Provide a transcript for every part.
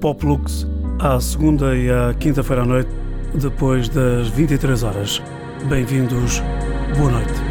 Pop Lux à segunda e à quinta-feira à noite, depois das 23 horas. Bem-vindos, boa noite.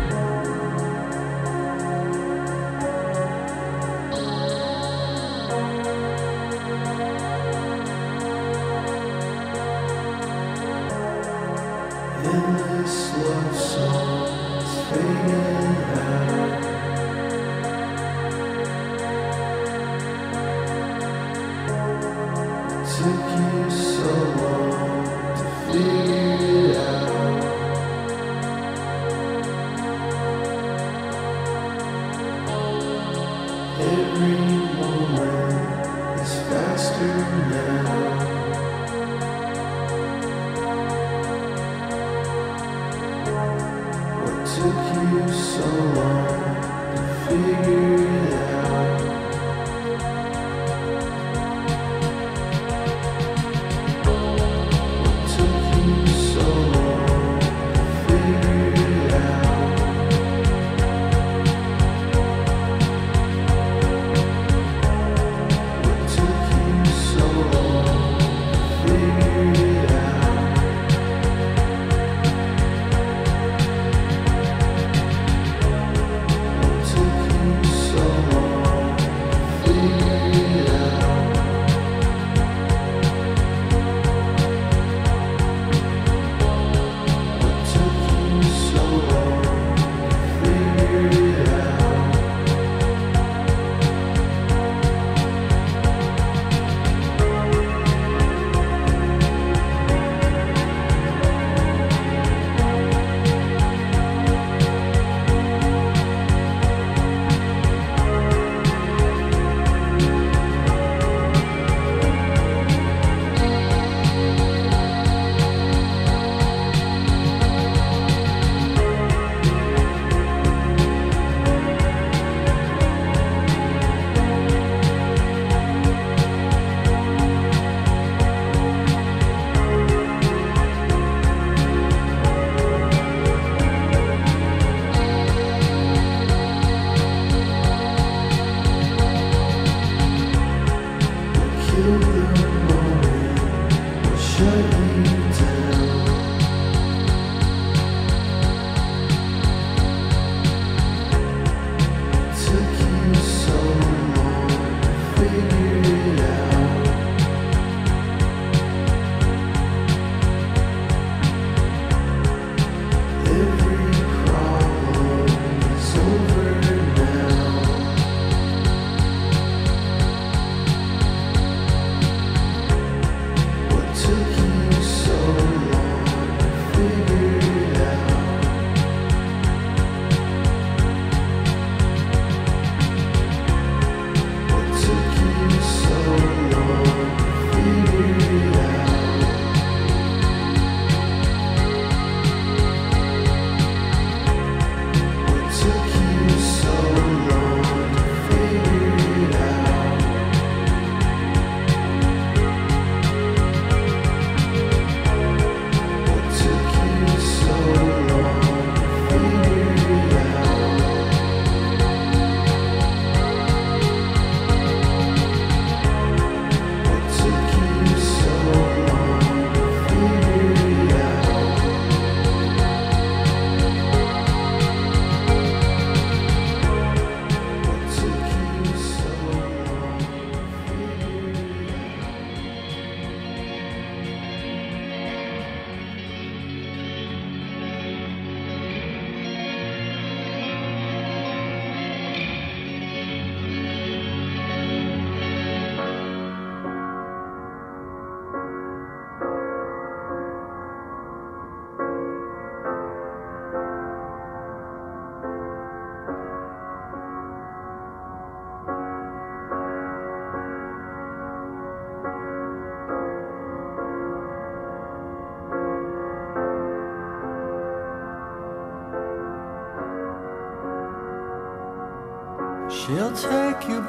She'll take you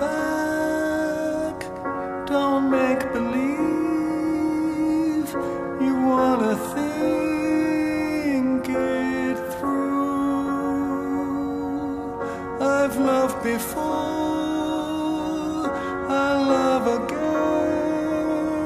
back, don't make believe you wanna think it through. I've loved before, I'll love again.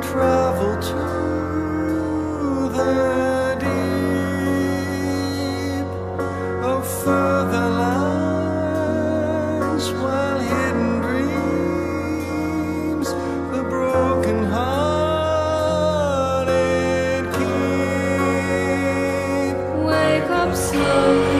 travel to the deep of further lands, while hidden dreams the broken hearted keep. Wake up slowly.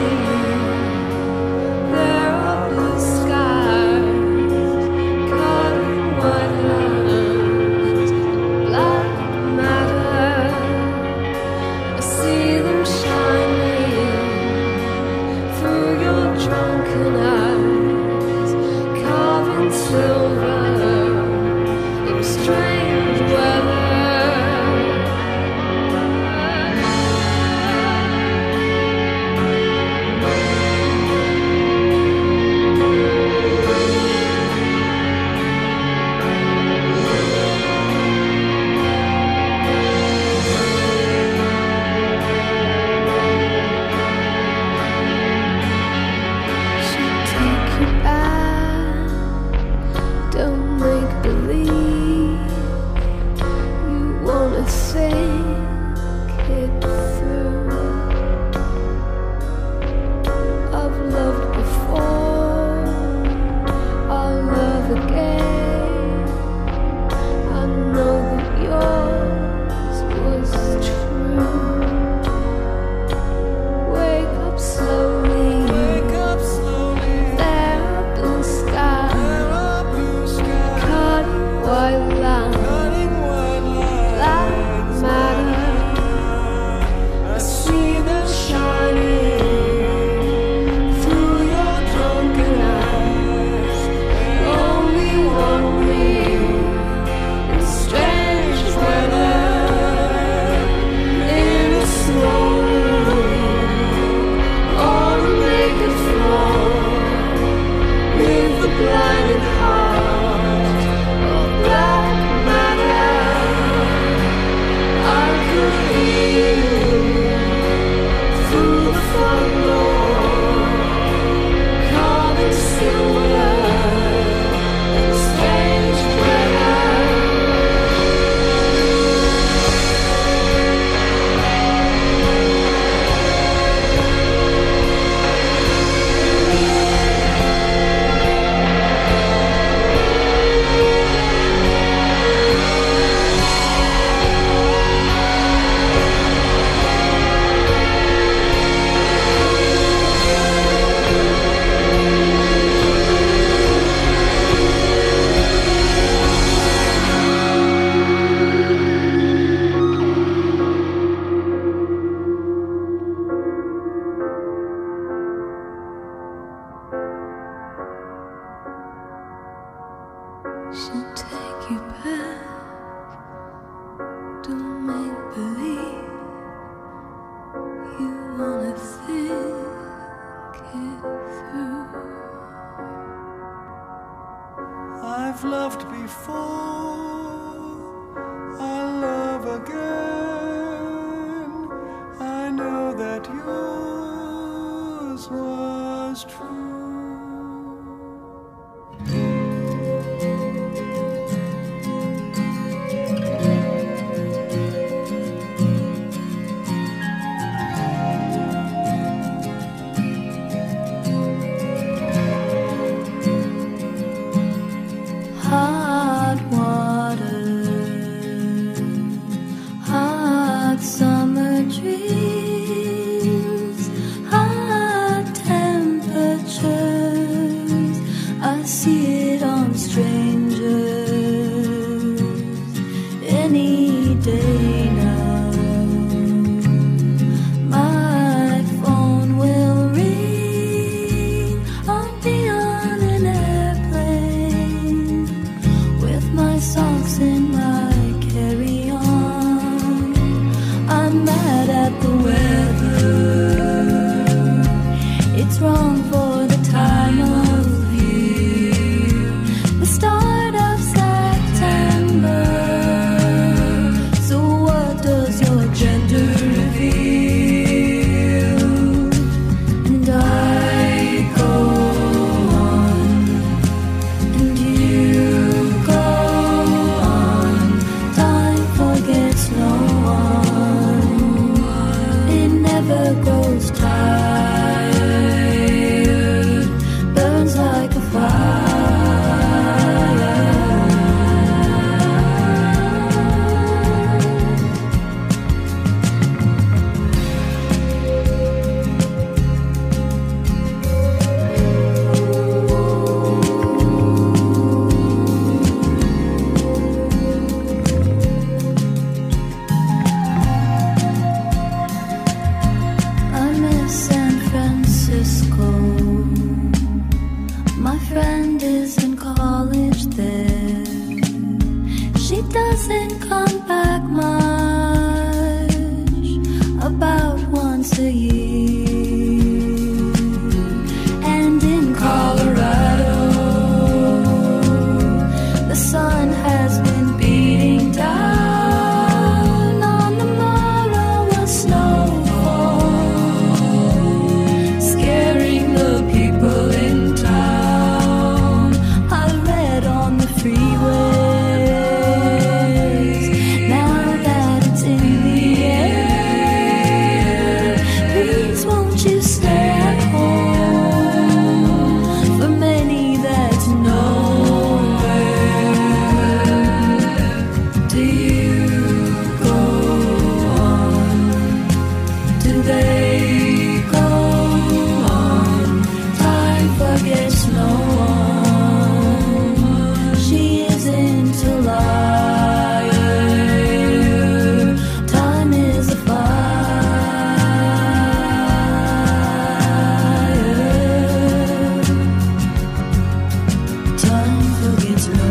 I've loved before, I'll love again. I know that yours was true. Hot water, hot summer dreams, hot temperatures. I see it on strangers any day now. My phone will ring. I'll be on an airplane with my socks in my carry-on. I'm mad at the weather. It's wrong for the time of year. The start of September. come back much, about once a year. And in Colorado, the sun has been beating down on the Marrowa snowfall, scaring the people in town. I read on the freeways, now that it's in the air, please won't you stay at home? For many that's nowhere. Do you go on? Do they go on? Time forgets no one. She isn't a liar. Time is a fire. Time forgets no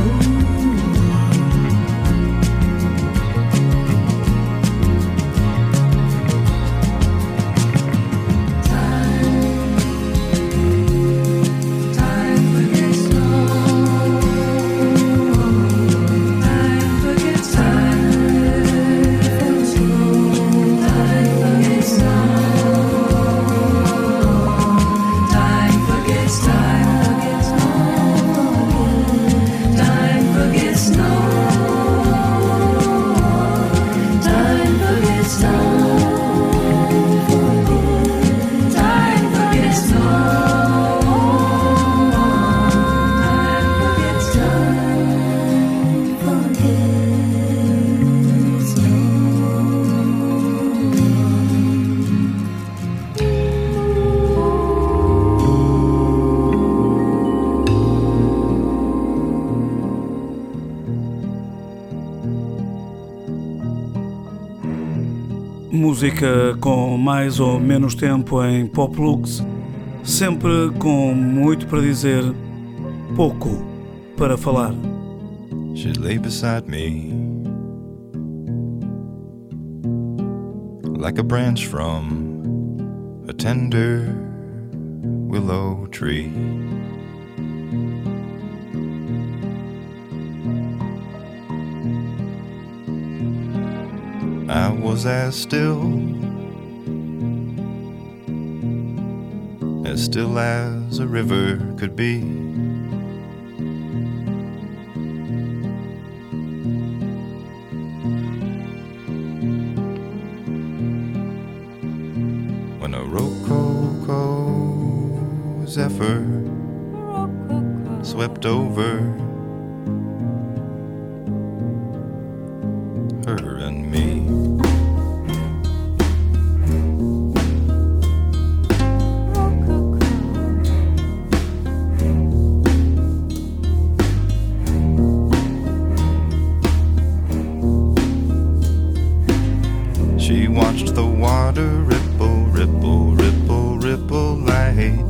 Time forgets no Time forgets Time forgets Time forgets no Time forgets no Time forgets no Música com mais ou menos tempo em Pop Lux, sempre com muito para dizer, pouco para falar. She lay beside me like a branch from a tender willow tree. I was as still as a river could be. When a rococo zephyr swept over her and me. She watched the water ripple, ripple, ripple, ripple light.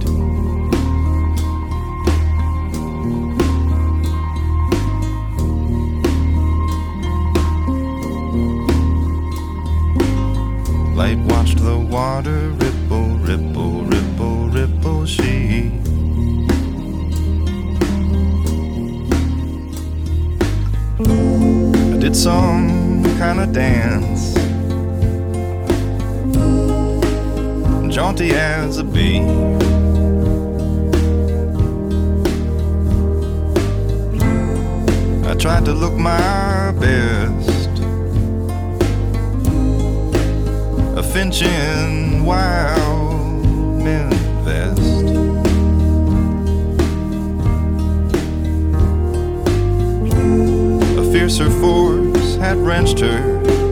Light watched the water ripple, ripple, ripple, ripple. She I did some kind of dance, jaunty as a bee. I tried to look my best, a finch in wild men vest. A fiercer force had wrenched her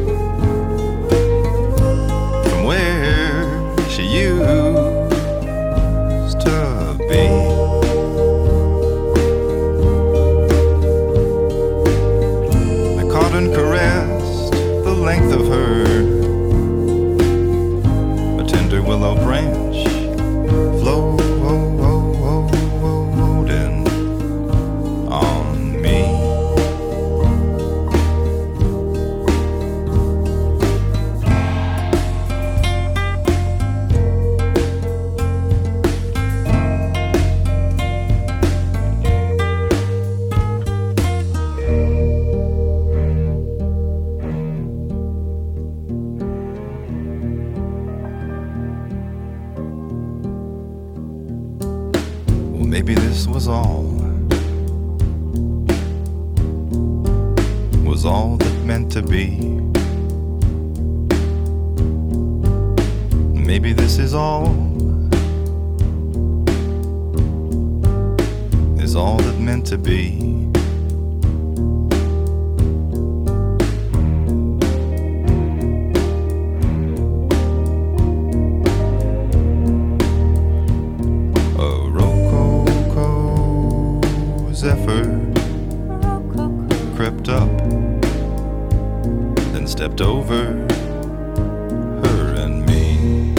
from where she used to be. I caught and caressed the length of her, a tender willow branch floating on me. Maybe this was all that meant to be. Maybe this is all that meant to be. Crept up, then stepped over her and me.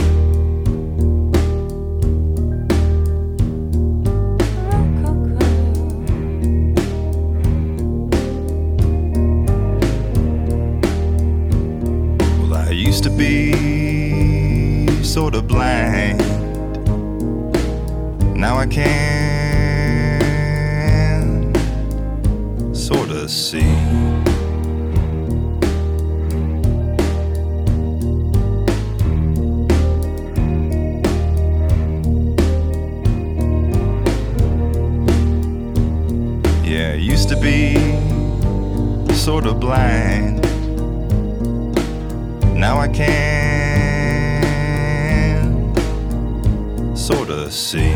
Well, I used to be sort of blind. Now I can sorta see. Yeah, I used to be sort of blind. Now I can sorta see.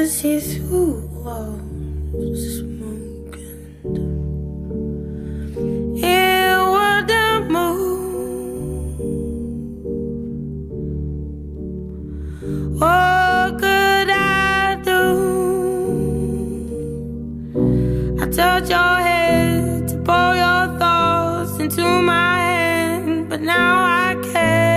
see through walls smoking. It wouldn't move. What could I do? I touch your head to pour your thoughts into my hand, but now I can't.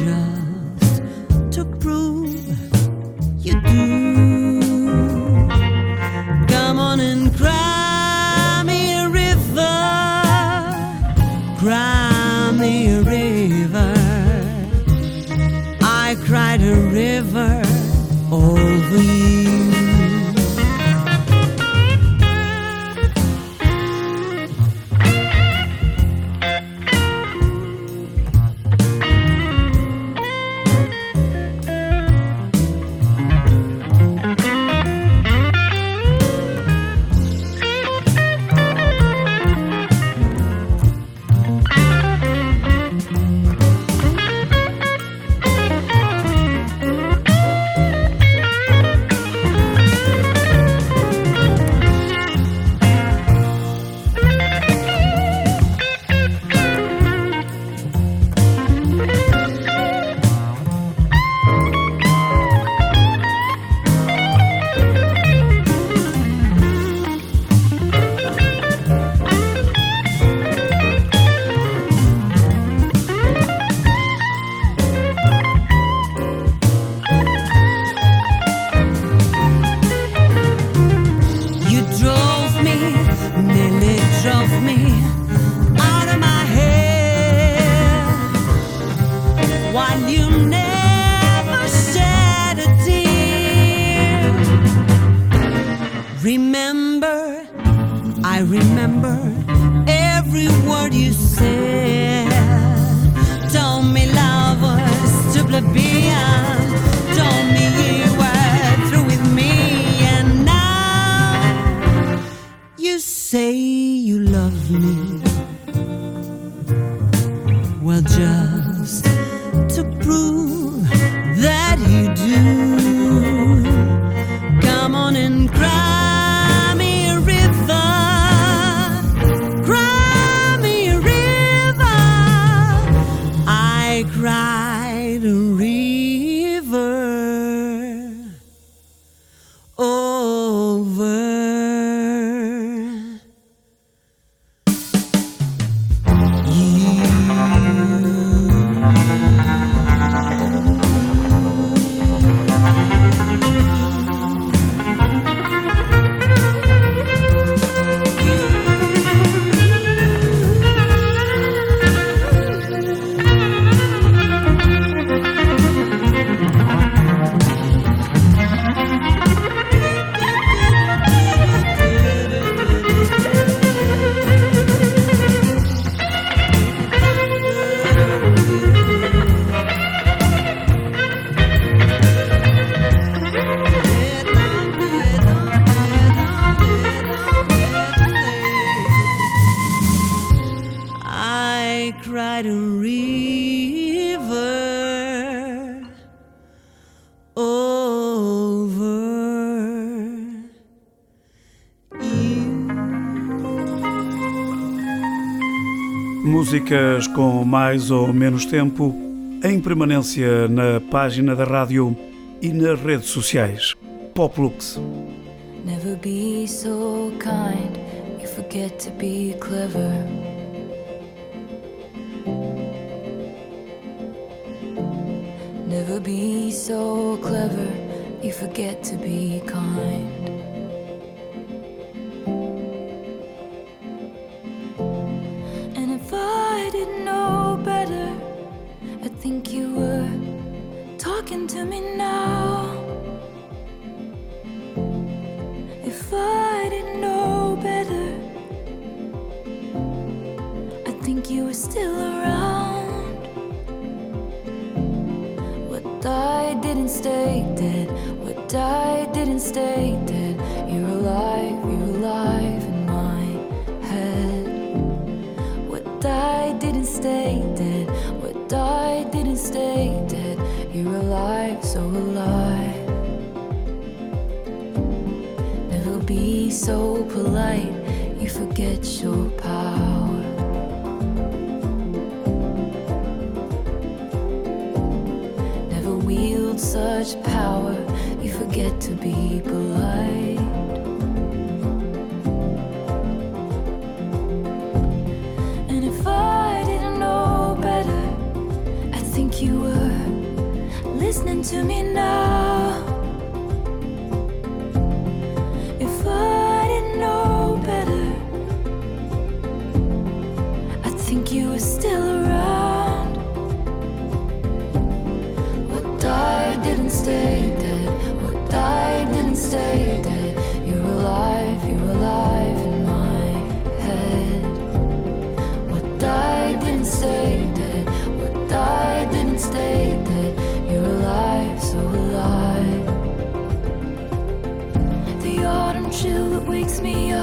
you do. on and cry me a river, cry me a river. I cried a river over you. Músicas com mais ou menos tempo em permanência na página da rádio e nas redes sociais. Poplux. Never be so kind, you forget to be clever. Never be so clever, you forget to be kind. And if I didn't know better, I think you were talking to me now. If I didn't know better, I think you were still around. What I didn't stay dead, what I didn't stay dead. You're alive in my head. What I didn't stay dead, what I didn't stay dead. You're alive, so alive. Never be so polite, you forget your power. Never wield such power, you forget to be polite. And if I didn't know better, I think you were listening to me now. If I didn't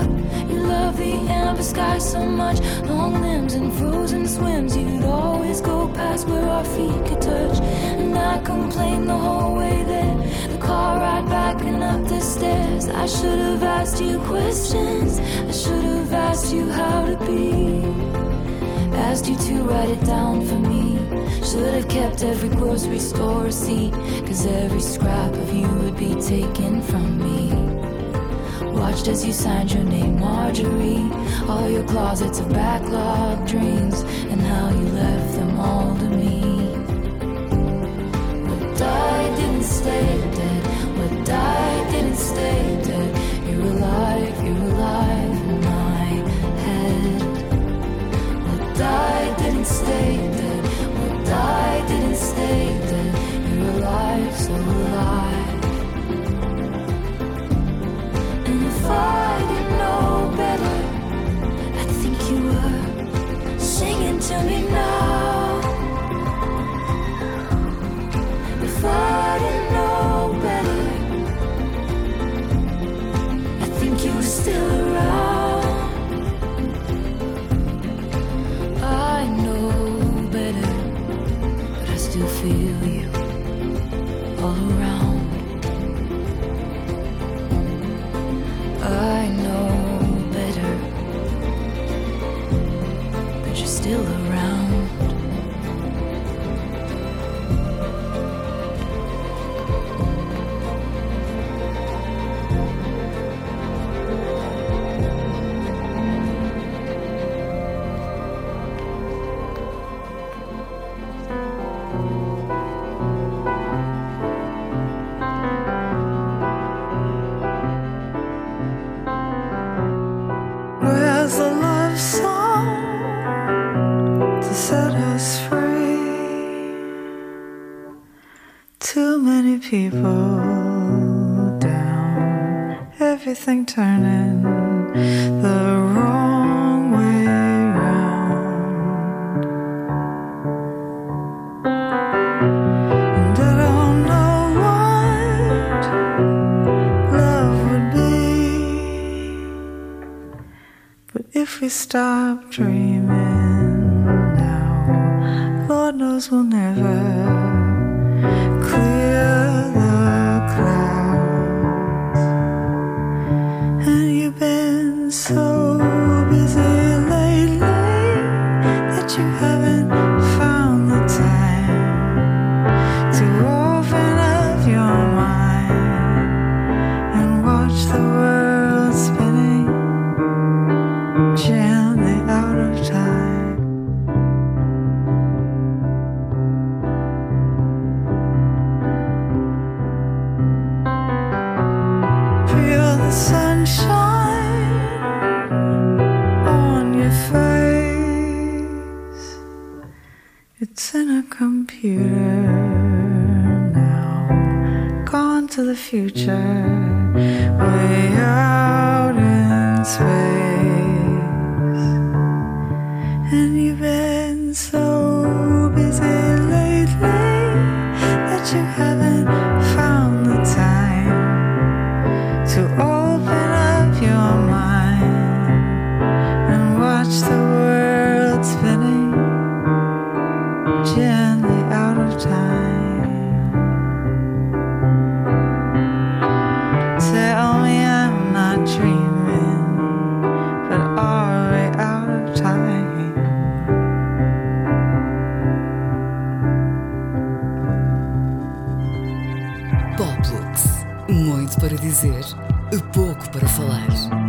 You love the amber sky so much, long limbs and frozen swims. You'd always go past where our feet could touch, and I complained the whole way there. The car ride back and up the stairs. I should have asked you questions. I should have asked you how to be. Asked you to write it down for me. Should have kept every grocery store receipt, 'cause every scrap of you would be taken from me. Watched as you signed your name, Marjorie. All your closets of backlogged dreams, and how you left them all to me. What died didn't stay dead. What died didn't stay dead. You're alive in my head. What died didn't stay dead. What died didn't stay dead. You're alive, so alive. And if I didn't know better, I'd think you were singing to me now. If I didn't know better, I think you were still around. I know better, but I still feel you all around. I know better, but you're still around. Where's the love song to set us free? Too many people down, everything turning the wrong way round. And I don't know what love would be, but if we stop dreaming now, Lord knows we'll never clear the clouds. And you've been so busy lately that you haven't found the time to open up your mind and watch the world spinning gently out of time. Feel the sunshine on your face. It's in a computer now, gone to the future, way out in space. And you've been so busy lately that you haven't found the time to open up your mind and watch the world spinning gently out of time. Tell me I'm not dreaming, but are we out of time? Poplux. Muito para dizer, pouco para falar.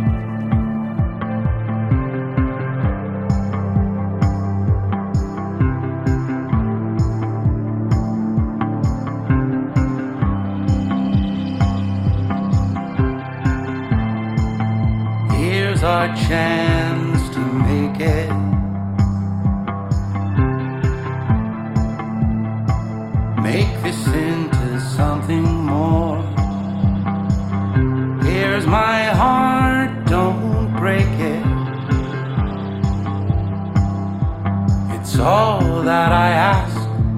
Here's our chance to make it. Make this into something more. Here's my heart, don't break it. It's all that I ask,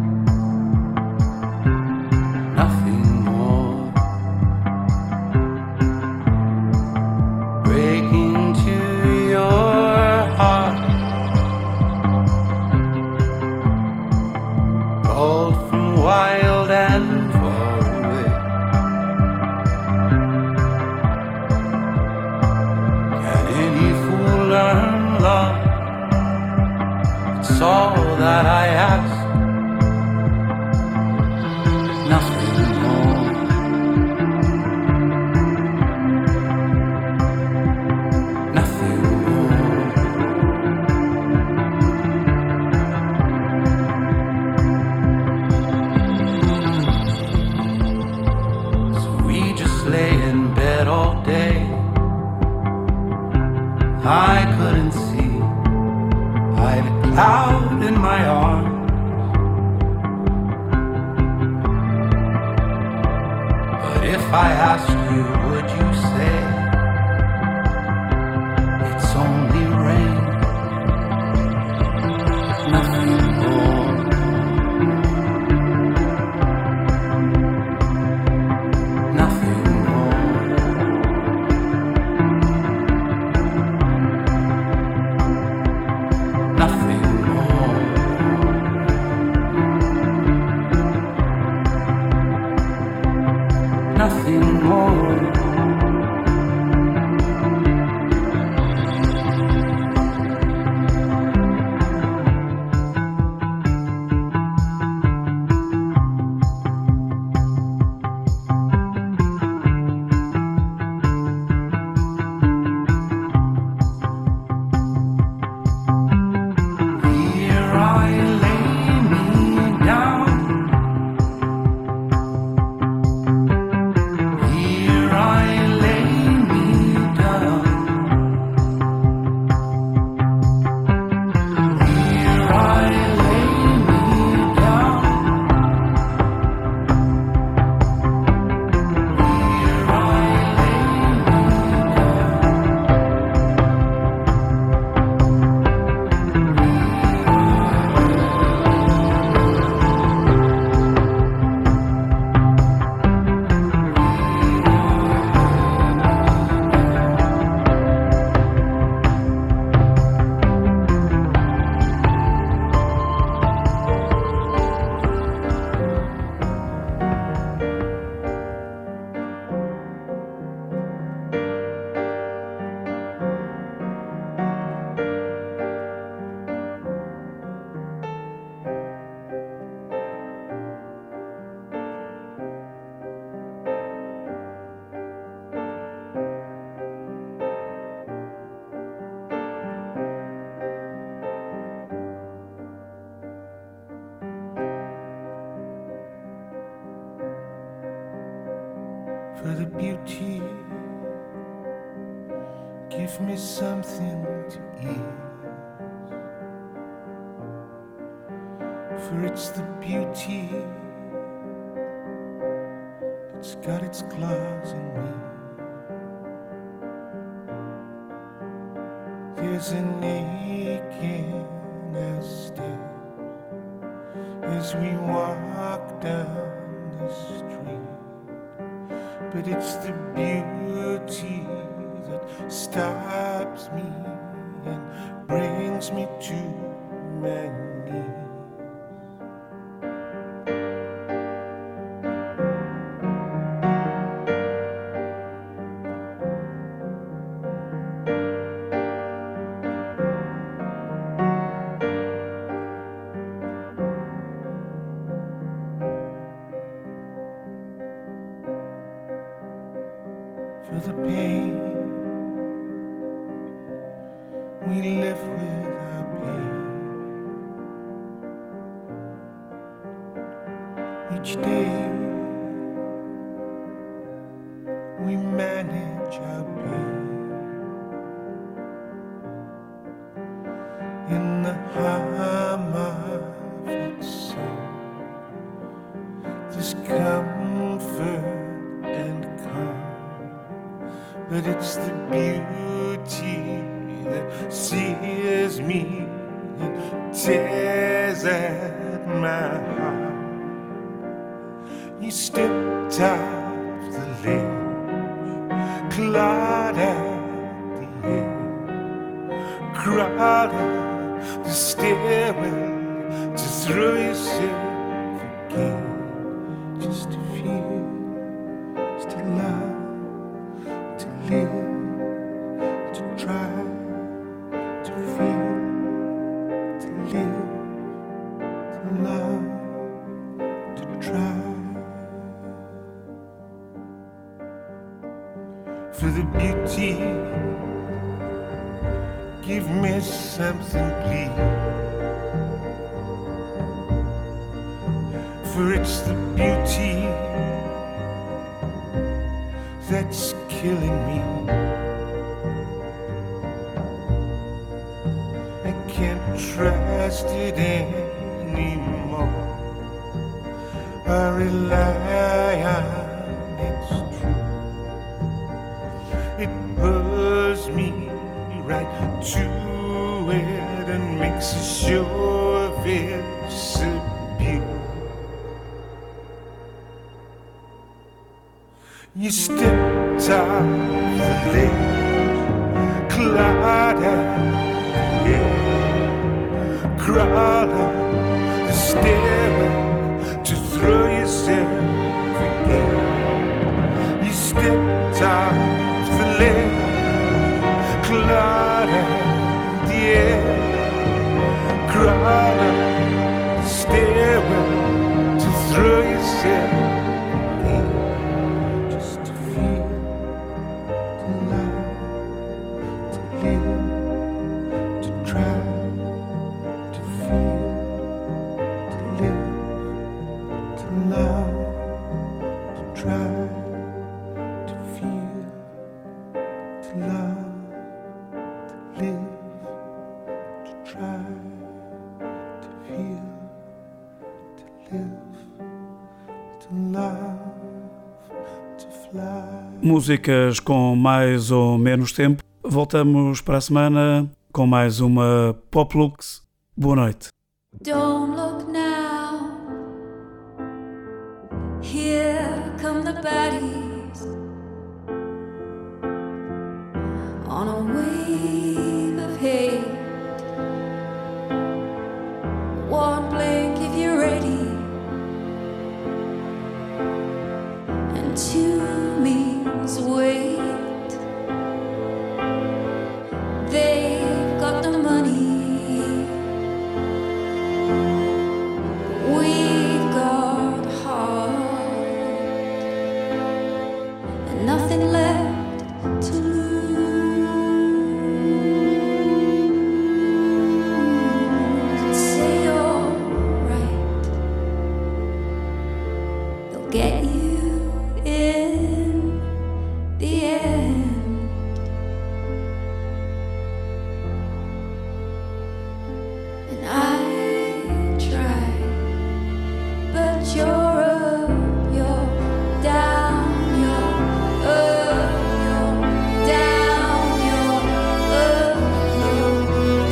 nothing more. Breaking that I ask. Nothing more. Nothing more. So we just lay in bed all day. I couldn't see. I had a cloud in my arms. But if I asked you, would you say it's only rain? Nothing more. Nothing more. Nothing more. Nothing more. Here I lay me down. Here I lay me down. Here I lay me down. Here I lay for the beauty, give me something to eat. For it's the beauty that's got its claws in me. There's an aching as steps as we walk down the street. But it's the beauty that stops me and brings me to my knees. For the pain we live with our pain. Each day we manage our pain in the hum of its song. There's comfort and calm. But it's the beauty that sears me and tears at my heart. You stepped off the ledge, clawed at the edge, crawled up the stairway to throw yourself again, just to feel, just to love, to live, to try, to feel, to live. Give me something, please. For it's the beauty that's killing me. I can't trust it anymore. I rely on its truth. It pulls me right to it and makes sure of its abuse. You stepped off the ledge, clawed at the air, crawled up the stairway to throw yourself again. You stepped off the ledge, clawed at the air, crawled up the stairway to throw yourself again. Just to feel, to love, to live, to try, to feel, to live, to love, to try, to feel, to love, to live, to try, to feel, to live, to love, to fly. Músicas com mais ou menos tempo. Voltamos para a semana com mais uma Poplux. Boa noite. Don't look now. Here come the baddies on a wave of hate. One blink if you're ready, and two means wait. They've got the money, we've got heart, and nothing left to lose. Say you're right, they'll get you in the end. And I try, but you're up, you're down, you're up, you're down, you're up, you're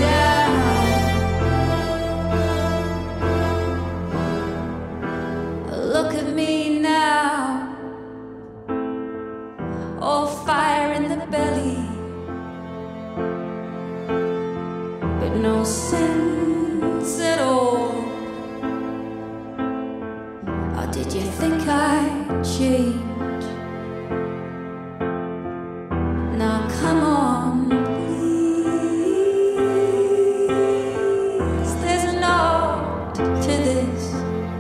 down. Look at me now, all fire in the belly, but no sense at all. Or did you think I'd change? Now come on, please. There's an art to this.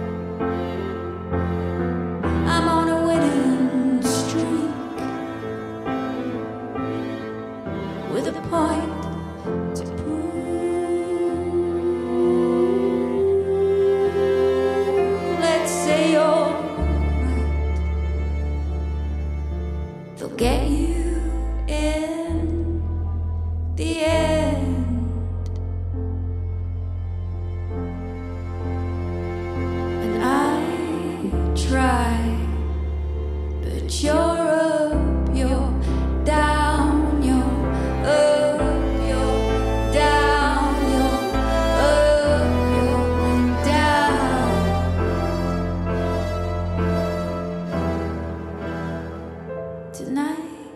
I'm on a winning streak with a point to prove. Let's say you're right, they'll get you in the end. And I try, but you're up, you're down, you're up, you're down, you're up, you're down. Tonight,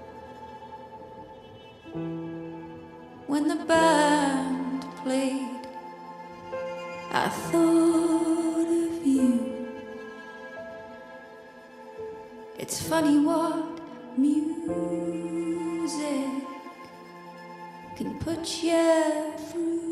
when the band played, I thought of you. It's funny what music can put you through.